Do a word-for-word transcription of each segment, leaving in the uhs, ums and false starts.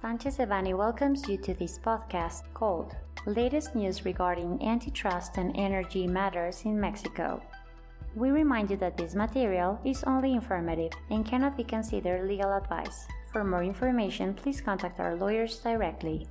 Sanchez Devanny welcomes you to this podcast called Latest News Regarding Antitrust and Energy Matters in Mexico. We remind you that this material is only informative and cannot be considered legal advice. For more information, please contact our lawyers directly.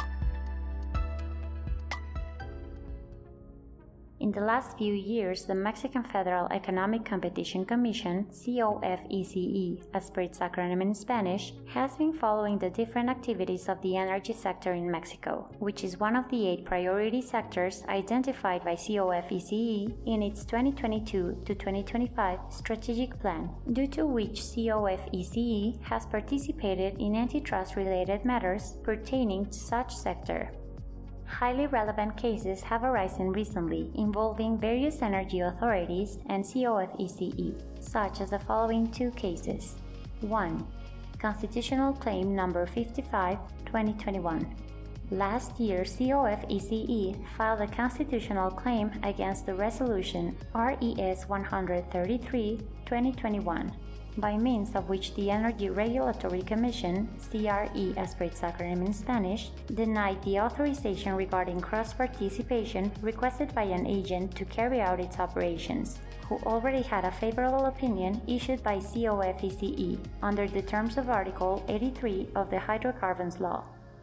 In the last few years, the Mexican Federal Economic Competition Commission, C O F E C E, as per its acronym in Spanish, has been following the different activities of the energy sector in Mexico, which is one of the eight priority sectors identified by C O F E C E in its twenty twenty-two to twenty twenty-five strategic plan, due to which C O F E C E has participated in antitrust-related matters pertaining to such sector. Highly relevant cases have arisen recently involving various energy authorities and C O F E C E, such as the following two cases. one. Constitutional Claim Number fifty-five, twenty twenty-one. Last year, C O F E C E filed a constitutional claim against the resolution R E S one thirty-three, twenty twenty-one, by means of which the Energy Regulatory Commission, C R E as per its acronym in Spanish, denied the authorization regarding cross-participation requested by an agent to carry out its operations, who already had a favorable opinion issued by C O F E C E under the terms of Article eighty-three of the Hydrocarbons Law.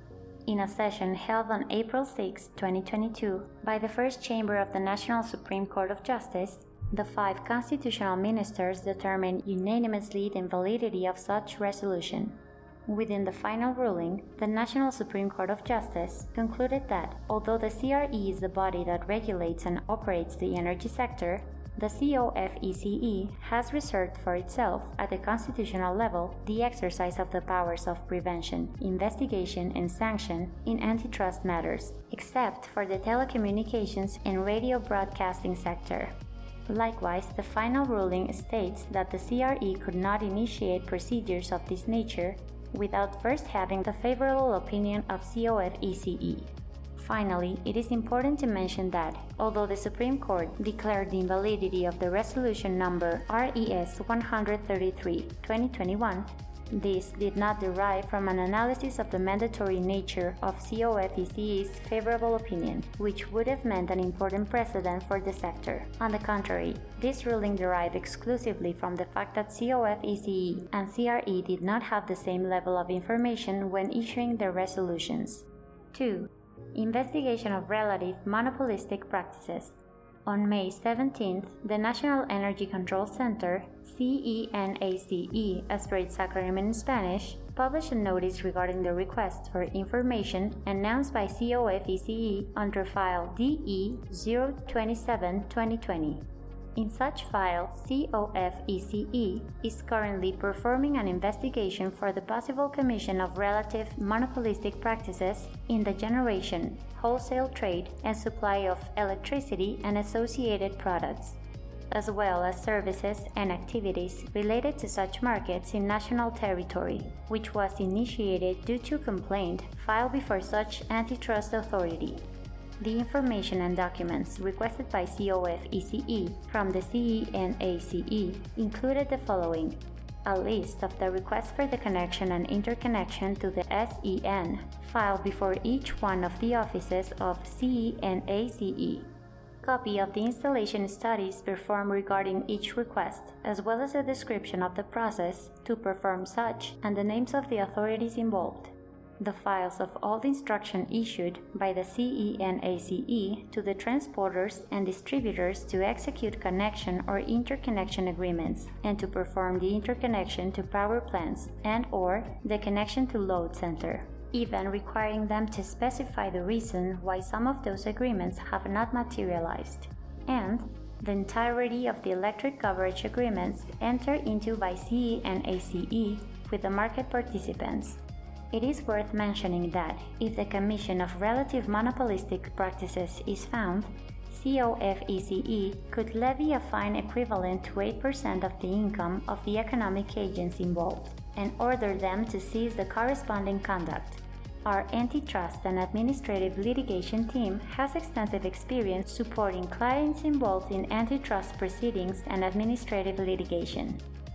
In a session held on April sixth, twenty twenty-two, by the First Chamber of the National Supreme Court of Justice, the five constitutional ministers determined unanimously the invalidity of such resolution. Within the final ruling, the National Supreme Court of Justice concluded that, although the C R E is the body that regulates and operates the energy sector, the C O F E C E has reserved for itself, at the constitutional level, the exercise of the powers of prevention, investigation, and sanction in antitrust matters, except for the telecommunications and radio broadcasting sector. Likewise, the final ruling states that the C R E could not initiate procedures of this nature without first having the favorable opinion of C O F E C E. Finally, it is important to mention that, although the Supreme Court declared the invalidity of the resolution number R E S one thirty-three, twenty twenty-one, this did not derive from an analysis of the mandatory nature of C O F E C E's favorable opinion, which would have meant an important precedent for the sector. On the contrary, this ruling derived exclusively from the fact that C O F E C E and C R E did not have the same level of information when issuing their resolutions. two. Investigation of relative monopolistic practices. On May seventeenth, the National Energy Control Center, C E N A C E as per its acronym in Spanish, published a notice regarding the request for information announced by C O F E C E under file D E zero two seven dash twenty twenty. In such file, C O F E C E is currently performing an investigation for the possible commission of relative monopolistic practices in the generation, wholesale trade, and supply of electricity and associated products, as well as services and activities related to such markets in national territory, which was initiated due to complaint filed before such antitrust authority. The information and documents requested by C O F E C E from the C E N A C E included the following: a list of the requests for the connection and interconnection to the S E N filed before each one of the offices of C E N A C E, copy of the installation studies performed regarding each request, as well as a description of the process to perform such and the names of the authorities involved, the files of all the instruction issued by the C E N A C E to the transporters and distributors to execute connection or interconnection agreements and to perform the interconnection to power plants and or the connection to load center, even requiring them to specify the reason why some of those agreements have not materialized, and the entirety of the electric coverage agreements entered into by C E N A C E with the market participants. It is worth mentioning that, if the commission of relative monopolistic practices is found, C O F E C E could levy a fine equivalent to eight percent of the income of the economic agents involved, and order them to cease the corresponding conduct. Our antitrust and administrative litigation team has extensive experience supporting clients involved in antitrust proceedings and administrative litigation.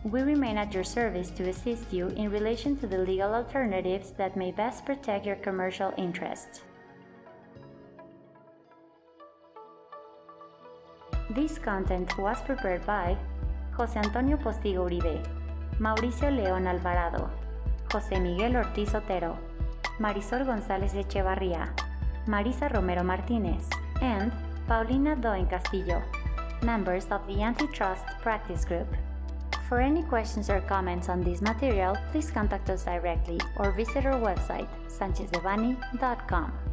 We remain at your service to assist you in relation to the legal alternatives that may best protect your commercial interests. This content was prepared by José Antonio Postigo Uribe, Mauricio León Alvarado, José Miguel Ortiz Otero, Marisol González Echevarría, Marisa Romero Martinez, and Paulina Doen Castillo, members of the Antitrust Practice Group. For any questions or comments on this material, please contact us directly or visit our website, sanchez devanny dot com.